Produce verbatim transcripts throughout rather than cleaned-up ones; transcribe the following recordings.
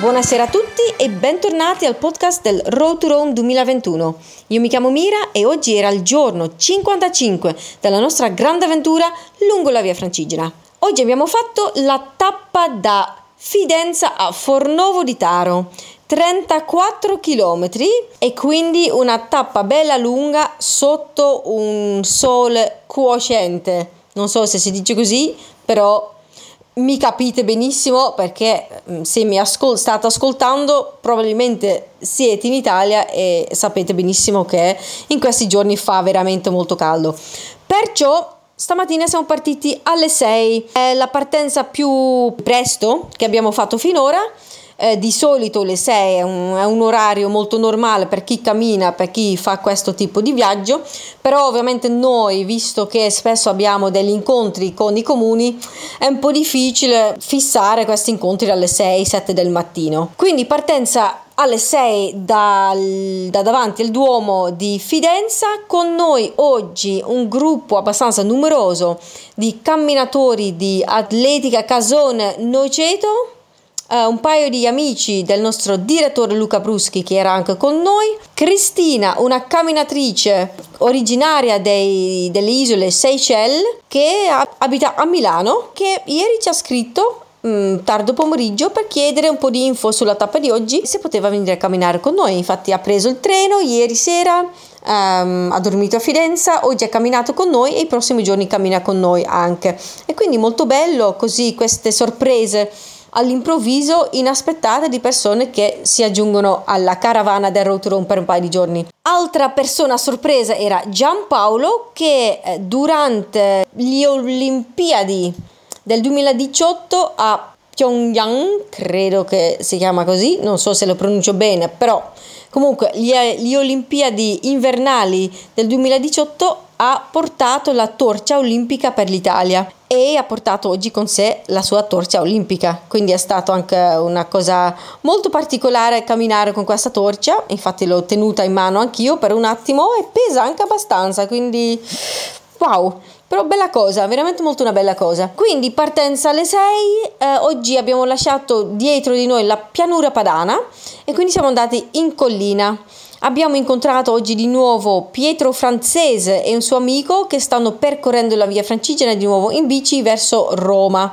Buonasera a tutti e bentornati al podcast del Road to Rome duemilaventuno. Io mi chiamo Mira e oggi era il giorno cinquantacinque della nostra grande avventura lungo la via Francigena. Oggi abbiamo fatto la tappa da Fidenza a Fornovo di Taro, trentaquattro chilometri, e quindi una tappa bella lunga sotto un sole cocente. Non so se si dice così, però mi capite benissimo, perché se mi ascol- state ascoltando probabilmente siete in Italia e sapete benissimo che in questi giorni fa veramente molto caldo. Perciò stamattina siamo partiti alle sei, è la partenza più presto che abbiamo fatto finora. Eh, di solito le sei è un, è un orario molto normale per chi cammina, per chi fa questo tipo di viaggio, però ovviamente noi, visto che spesso abbiamo degli incontri con i comuni, è un po' difficile fissare questi incontri alle sei sette del mattino. Quindi partenza alle sei dal, da davanti al Duomo di Fidenza. Con noi oggi un gruppo abbastanza numeroso di camminatori di Atletica Casone Noceto. Uh, un paio di amici del nostro direttore Luca Bruschi, che era anche con noi, Cristina, una camminatrice originaria dei, delle isole Seychelles, che abita a Milano, che ieri ci ha scritto um, tardo pomeriggio per chiedere un po' di info sulla tappa di oggi, se poteva venire a camminare con noi. Infatti ha preso il treno ieri sera, um, ha dormito a Fidenza, oggi ha camminato con noi e i prossimi giorni cammina con noi anche, e quindi molto bello così queste sorprese all'improvviso inaspettate di persone che si aggiungono alla caravana del Road to Rome per un paio di giorni. Altra persona sorpresa era Giampaolo, che durante le Olimpiadi del duemiladiciotto a Pyongyang, credo che si chiama così, non so se lo pronuncio bene, però comunque le, le Olimpiadi invernali del duemiladiciotto ha portato la torcia olimpica per l'Italia e ha portato oggi con sé la sua torcia olimpica, quindi è stato anche una cosa molto particolare camminare con questa torcia. Infatti l'ho tenuta in mano anch'io per un attimo e pesa anche abbastanza, quindi wow, però bella cosa, veramente molto una bella cosa. Quindi partenza alle sei, eh, oggi abbiamo lasciato dietro di noi la pianura padana e quindi siamo andati in collina. Abbiamo incontrato oggi di nuovo Pietro Francese e un suo amico che stanno percorrendo la via Francigena di nuovo in bici verso Roma.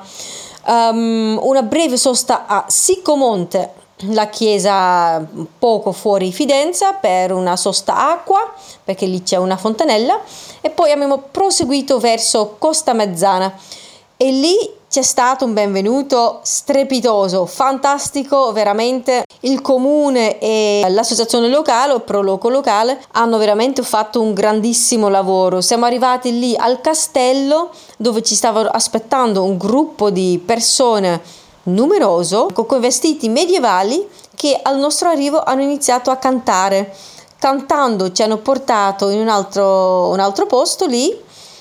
Um, una breve sosta a Siccomonte, la chiesa poco fuori Fidenza, per una sosta acqua, perché lì c'è una fontanella, e poi abbiamo proseguito verso Costamezzana e lì c'è stato un benvenuto strepitoso, fantastico, veramente. Il comune e l'associazione locale o Proloco locale hanno veramente fatto un grandissimo lavoro. Siamo arrivati lì al castello dove ci stava aspettando un gruppo di persone numeroso con vestiti medievali che al nostro arrivo hanno iniziato a cantare. Cantando ci hanno portato in un altro, un altro posto lì.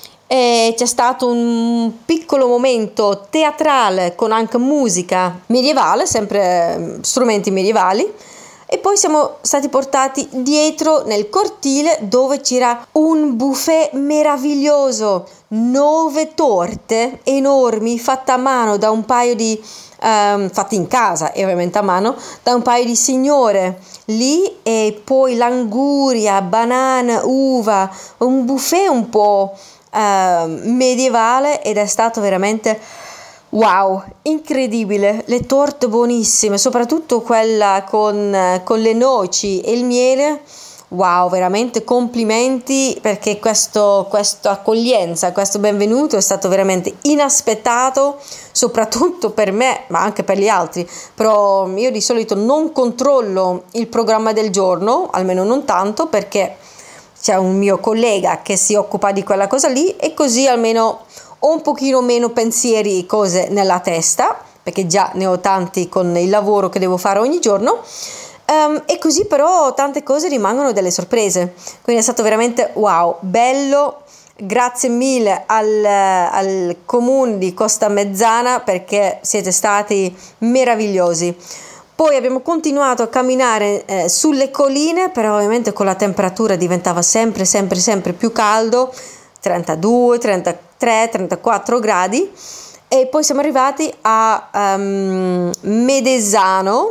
E c'è stato un piccolo momento teatrale con anche musica medievale, sempre strumenti medievali, e poi siamo stati portati dietro nel cortile dove c'era un buffet meraviglioso, nove torte enormi fatte a mano da un paio di um, fatte in casa e ovviamente a mano da un paio di signore lì, e poi languria, banana, uva, un buffet un po' Uh, medievale, ed è stato veramente wow, incredibile. Le torte buonissime, soprattutto quella con, con le noci e il miele. Wow, veramente complimenti, perché questo, questa accoglienza, questo benvenuto è stato veramente inaspettato, soprattutto per me, ma anche per gli altri. Però io di solito non controllo il programma del giorno, almeno non tanto, perché c'è un mio collega che si occupa di quella cosa lì, e così almeno ho un pochino meno pensieri e cose nella testa, perché già ne ho tanti con il lavoro che devo fare ogni giorno, um, e così però tante cose rimangono delle sorprese. Quindi è stato veramente wow, bello. Grazie mille al, al comune di Costamezzana, perché siete stati meravigliosi. Poi abbiamo continuato a camminare eh, sulle colline, però ovviamente con la temperatura diventava sempre, sempre, sempre più caldo, trentadue, trentatré, trentaquattro gradi, e poi siamo arrivati a um, Medesano,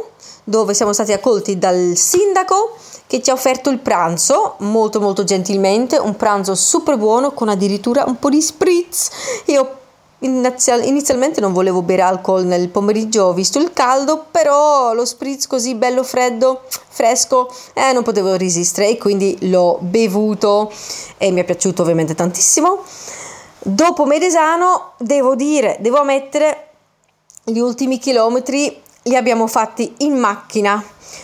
dove siamo stati accolti dal sindaco che ci ha offerto il pranzo molto molto gentilmente, un pranzo super buono con addirittura un po' di spritz. Io inizialmente non volevo bere alcol nel pomeriggio visto il caldo, però lo spritz così bello freddo, fresco, eh, non potevo resistere e quindi l'ho bevuto e mi è piaciuto ovviamente tantissimo. Dopo Medesano devo dire, devo ammettere, gli ultimi chilometri li abbiamo fatti in macchina.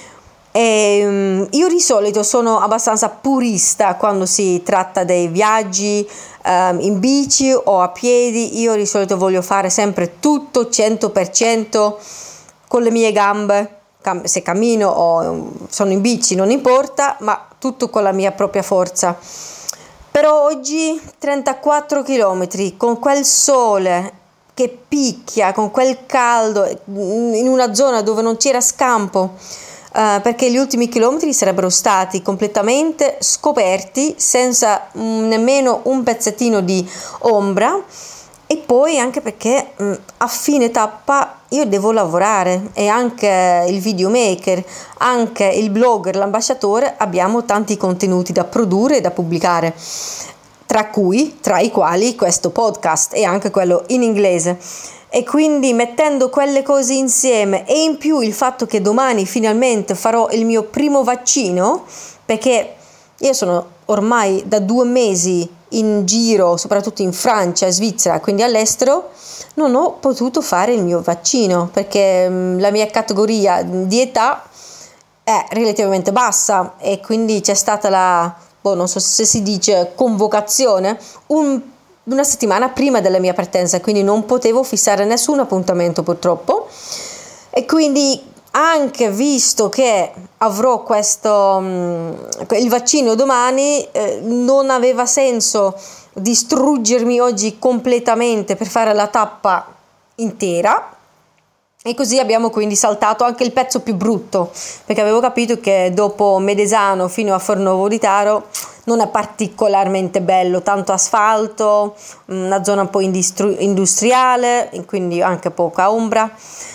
E, um, io di solito sono abbastanza purista quando si tratta dei viaggi um, in bici o a piedi. Io di solito voglio fare sempre tutto cento per cento con le mie gambe, Cam- se cammino o um, sono in bici non importa, ma tutto con la mia propria forza. Però oggi trentaquattro chilometri con quel sole che picchia, con quel caldo, in una zona dove non c'era scampo, Uh, perché gli ultimi chilometri sarebbero stati completamente scoperti senza um, nemmeno un pezzettino di ombra, e poi anche perché um, a fine tappa io devo lavorare e anche il videomaker, anche il blogger, l'ambasciatore, abbiamo tanti contenuti da produrre e da pubblicare, tra cui, tra i quali questo podcast e anche quello in inglese. E quindi mettendo quelle cose insieme e in più il fatto che domani finalmente farò il mio primo vaccino, perché io sono ormai da due mesi in giro, soprattutto in Francia e Svizzera, quindi all'estero, non ho potuto fare il mio vaccino perché la mia categoria di età è relativamente bassa e quindi c'è stata la, boh, non so se si dice convocazione, un una settimana prima della mia partenza, quindi non potevo fissare nessun appuntamento purtroppo, e quindi anche visto che avrò questo il vaccino domani, eh, non aveva senso distruggermi oggi completamente per fare la tappa intera. E così abbiamo quindi saltato anche il pezzo più brutto, perché avevo capito che dopo Medesano fino a Fornovo di Taro non è particolarmente bello, tanto asfalto, una zona un po' industri- industriale, quindi anche poca ombra.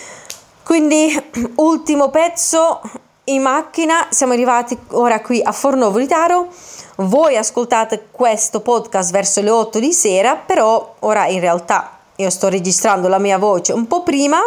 Quindi ultimo pezzo in macchina, siamo arrivati ora qui a Fornovo di Taro. Voi ascoltate questo podcast verso le otto di sera, però ora in realtà io sto registrando la mia voce un po' prima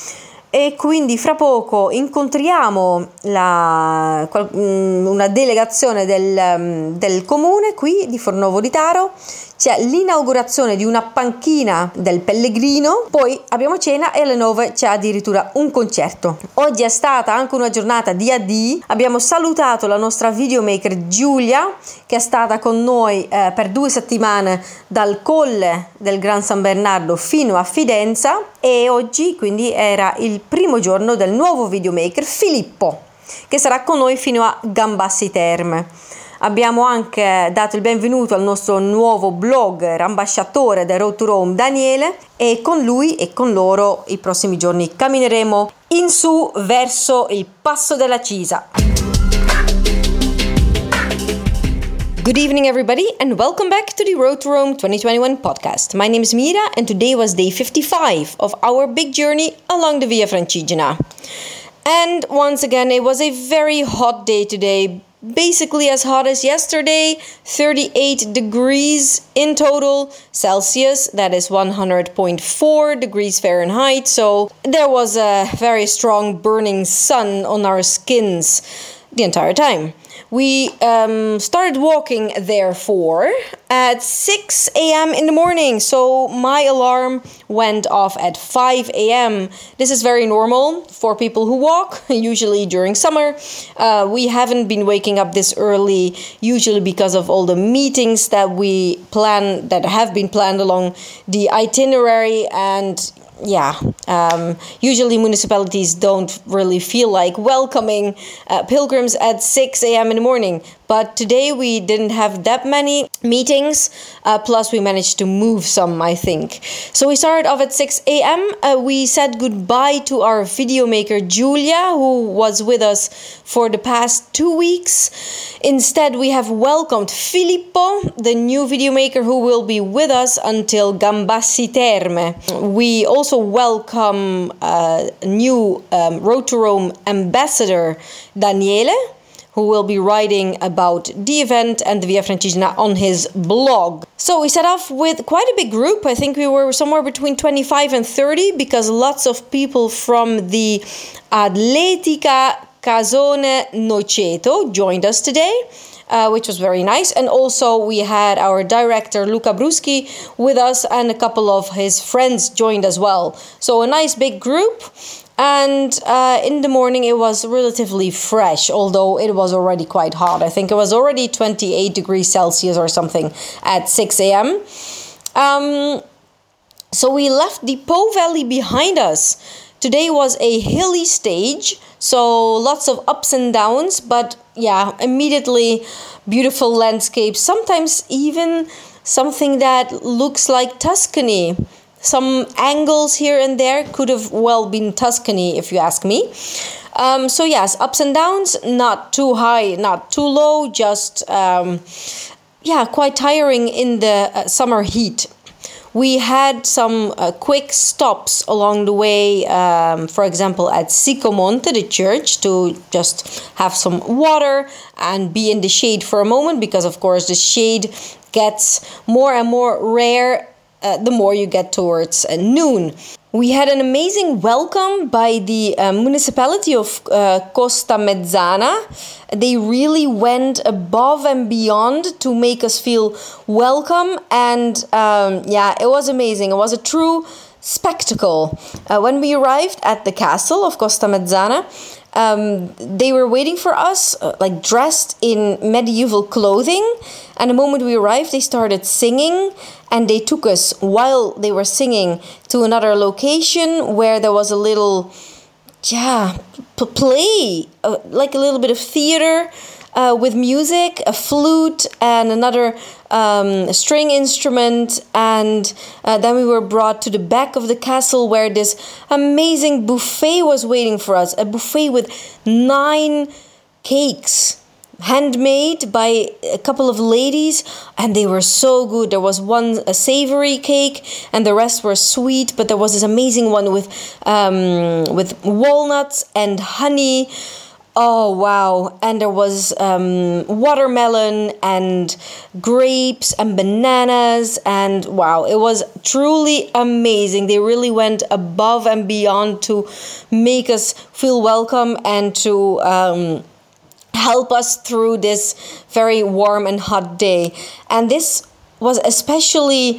e quindi fra poco incontriamo la, una delegazione del, del comune qui di Fornovo di Taro. C'è l'inaugurazione di una panchina del Pellegrino, poi abbiamo cena e alle nove c'è addirittura un concerto. Oggi è stata anche una giornata di addii, abbiamo salutato la nostra videomaker Giulia che è stata con noi eh, per due settimane dal colle del Gran San Bernardo fino a Fidenza, e oggi quindi era il primo giorno del nuovo videomaker Filippo che sarà con noi fino a Gambassi Terme. Abbiamo anche dato il benvenuto al nostro nuovo blogger, ambasciatore del Road to Rome, Daniele, e con lui e con loro i prossimi giorni cammineremo in su verso il Passo della Cisa. Good evening everybody and welcome back to the Road to Rome twenty twenty-one podcast. My name is Mira and today was day fifty-five of our big journey along the Via Francigena. And once again it was a very hot day today. Basically as hot as yesterday, thirty-eight degrees in total Celsius, that is one hundred point four degrees Fahrenheit, so there was a very strong burning sun on our skins the entire time. We um, started walking, therefore, at six a.m. in the morning, so my alarm went off at five a.m. This is very normal for people who walk, usually during summer. Uh, we haven't been waking up this early, usually because of all the meetings that we plan, that have been planned along the itinerary, and yeah, um, usually municipalities don't really feel like welcoming uh, pilgrims at six a.m. in the morning. But today we didn't have that many meetings, uh, plus we managed to move some, I think. So we started off at six a.m. Uh, we said goodbye to our video maker Giulia, who was with us for the past two weeks. Instead, we have welcomed Filippo, the new video maker who will be with us until Gambassi Terme. We also welcome uh, new um, Road to Rome ambassador Daniele, who will be writing about the event and the Via Francigena on his blog. So we set off with quite a big group. I think we were somewhere between twenty-five and thirty, because lots of people from the Atletica Casone Noceto joined us today, uh, which was very nice. And also we had our director Luca Bruschi with us, and a couple of his friends joined as well. So a nice big group. And uh, in the morning it was relatively fresh, although it was already quite hot. I think it was already twenty-eight degrees Celsius or something at six a.m. Um, so we left the Po Valley behind us. Today was a hilly stage, so lots of ups and downs, but yeah, immediately beautiful landscapes, sometimes even something that looks like Tuscany. Some angles here and there could have well been Tuscany, if you ask me. Um, so yes, ups and downs, not too high, not too low, just um, yeah, quite tiring in the uh, summer heat. We had some uh, quick stops along the way, um, for example, at Sicomonte, the church, to just have some water and be in the shade for a moment, because of course the shade gets more and more rare Uh, the more you get towards uh, noon. We had an amazing welcome by the uh, municipality of uh, Costa Mezzana. They really went above and beyond to make us feel welcome, and um, yeah, it was amazing. It was a true spectacle. Uh, when we arrived at the castle of Costa Mezzana, Um, they were waiting for us, uh, like dressed in medieval clothing. And the moment we arrived, they started singing, and they took us, while they were singing, to another location where there was a little, yeah, p- play, uh, like a little bit of theater uh, with music, a flute, and another um, string instrument. And uh, then we were brought to the back of the castle, where this amazing buffet was waiting for us. A buffet with nine cakes, handmade by a couple of ladies, and they were so good. There was one a savory cake, and the rest were sweet, but there was this amazing one with um, with walnuts and honey. Oh, wow. And there was um, watermelon and grapes and bananas. And wow, it was truly amazing. They really went above and beyond to make us feel welcome and to um, help us through this very warm and hot day. And this was especially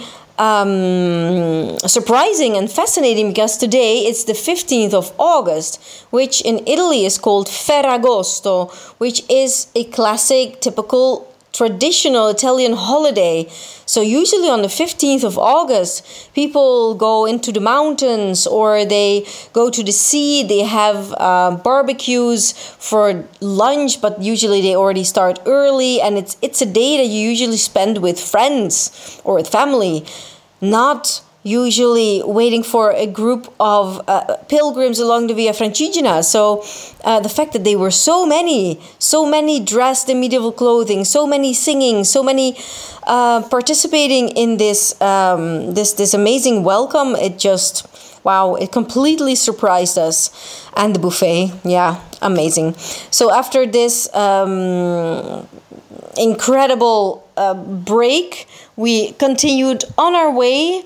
Um, surprising and fascinating, because today it's the fifteenth of August, which in Italy is called Ferragosto, which is a classic, typical, traditional Italian holiday. So usually on the fifteenth of August, people go into the mountains or they go to the sea. They have uh, barbecues for lunch, but usually they already start early, and it's it's a day that you usually spend with friends or with family, not usually waiting for a group of uh, pilgrims along the Via Francigena. So uh, the fact that they were so many, so many dressed in medieval clothing, so many singing, so many uh, participating in this um, this this amazing welcome, it just, wow, it completely surprised us. And the buffet, yeah, amazing. So after this um, incredible uh, break, we continued on our way.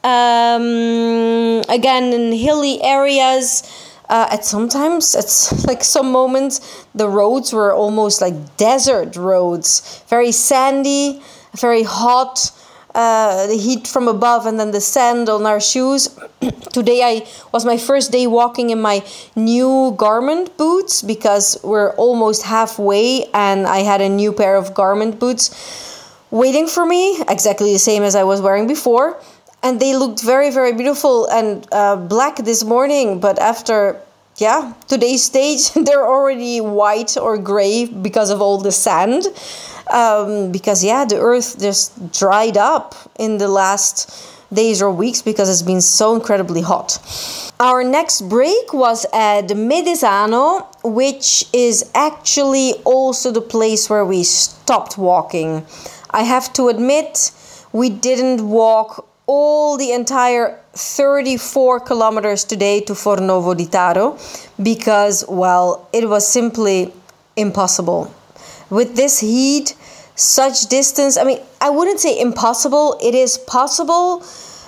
Um, again, in hilly areas, uh, at sometimes, it's like some moments, the roads were almost like desert roads, very sandy, very hot, uh, the heat from above, and then the sand on our shoes. Today I was my first day walking in my new garment boots, because we're almost halfway, and I had a new pair of garment boots waiting for me, exactly the same as I was wearing before. And they looked very, very beautiful and uh, black this morning. But after yeah, today's stage, they're already white or gray because of all the sand. Um, because, yeah, the earth just dried up in the last days or weeks because it's been so incredibly hot. Our next break was at Medesano, which is actually also the place where we stopped walking. I have to admit, we didn't walk all the entire thirty-four kilometers today to Fornovo di Taro because, well, it was simply impossible. With this heat, such distance, I mean, I wouldn't say impossible, it is possible,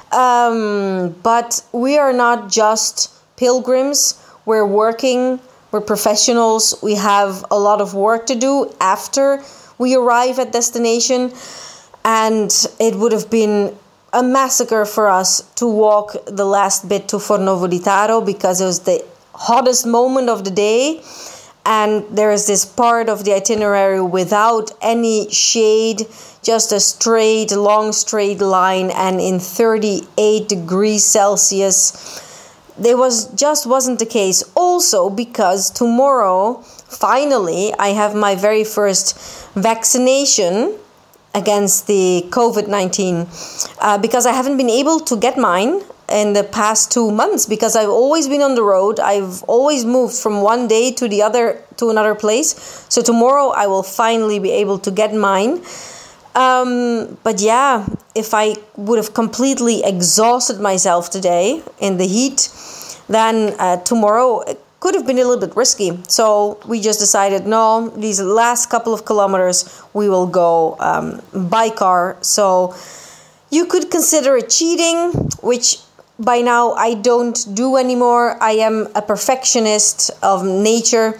um, but we are not just pilgrims, we're working, we're professionals, we have a lot of work to do after we arrive at destination, and it would have been a massacre for us to walk the last bit to Fornovo di Taro because it was the hottest moment of the day, and there is this part of the itinerary without any shade, just a straight, long straight line, and in thirty-eight degrees Celsius. It was just wasn't the case. Also because tomorrow, finally, I have my very first vaccination against the covid nineteen uh, because I haven't been able to get mine in the past two months because I've always been on the road. I've always moved from one day to the other to another place. So tomorrow I will finally be able to get mine. Um, but yeah, if I would have completely exhausted myself today in the heat, then uh, tomorrow it could have been a little bit risky. So we just decided, no, these last couple of kilometers we will go um, by car. So you could consider it cheating, which by now I don't do anymore. I am a perfectionist of nature.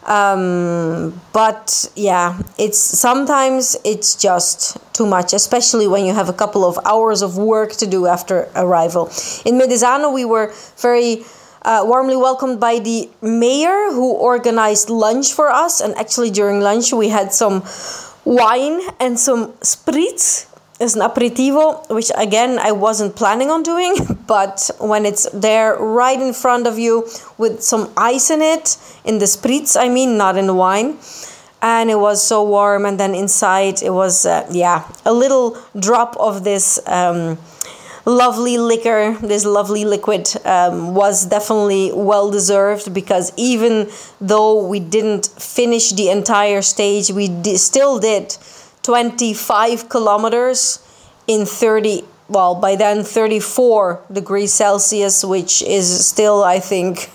Um, but yeah, it's sometimes it's just too much, especially when you have a couple of hours of work to do after arrival. In Medesano, we were very uh, warmly welcomed by the mayor who organized lunch for us. And actually during lunch, we had some wine and some spritz as an aperitivo, which again, I wasn't planning on doing. But when it's there right in front of you with some ice in it, in the spritz, I mean, not in the wine. And it was so warm. And then inside it was, uh, yeah, a little drop of this um, lovely liquor, this lovely liquid um, was definitely well deserved because even though we didn't finish the entire stage, we d- still did twenty-five kilometers in thirty, well, by then thirty-four degrees Celsius, which is still, I think,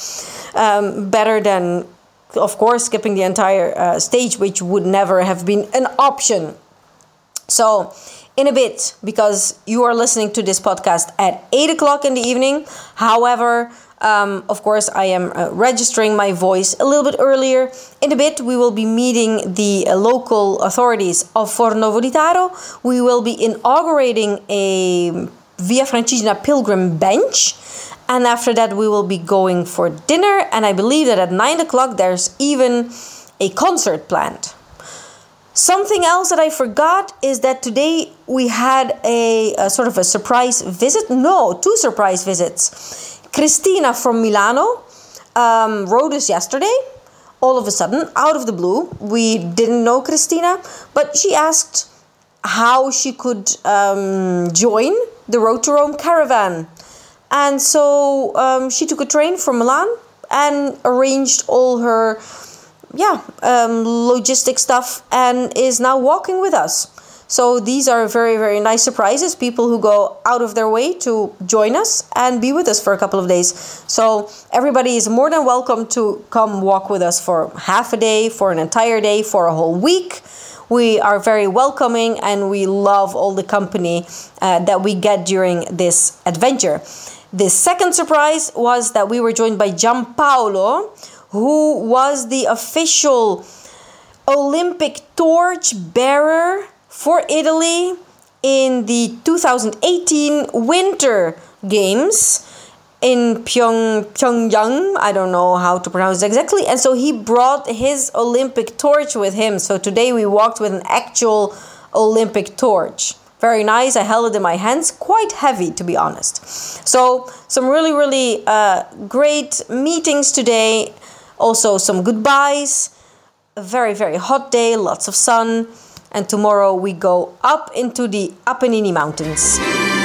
um, better than, of course, skipping the entire uh, stage, which would never have been an option. So, in a bit, because you are listening to this podcast at eight o'clock in the evening, however, Um, of course, I am uh, registering my voice a little bit earlier. In a bit, we will be meeting the uh, local authorities of Fornovo di Taro. We will be inaugurating a Via Francigena pilgrim bench. And after that, we will be going for dinner. And I believe that at nine o'clock, there's even a concert planned. Something else that I forgot is that today we had a, a sort of a surprise visit. No, two surprise visits. Cristina from Milano um, wrote us yesterday, all of a sudden, out of the blue. We didn't know Cristina, but she asked how she could um, join the Road to Rome caravan. And so um, she took a train from Milan and arranged all her yeah, um, logistic stuff and is now walking with us. So these are very, very nice surprises. People who go out of their way to join us and be with us for a couple of days. So everybody is more than welcome to come walk with us for half a day, for an entire day, for a whole week. We are very welcoming and we love all the company uh, that we get during this adventure. The second surprise was that we were joined by Giampaolo, who was the official Olympic torch bearer for Italy in the two thousand eighteen Winter Games in Pyong, Pyongyang. I don't know how to pronounce it exactly. And so he brought his Olympic torch with him. So today we walked with an actual Olympic torch. very nice. I held it in my hands, quite heavy to be honest. So some really, really uh, great meetings today. Also some goodbyes. A very, very hot day, lots of sun. And tomorrow we go up into the Apennine Mountains.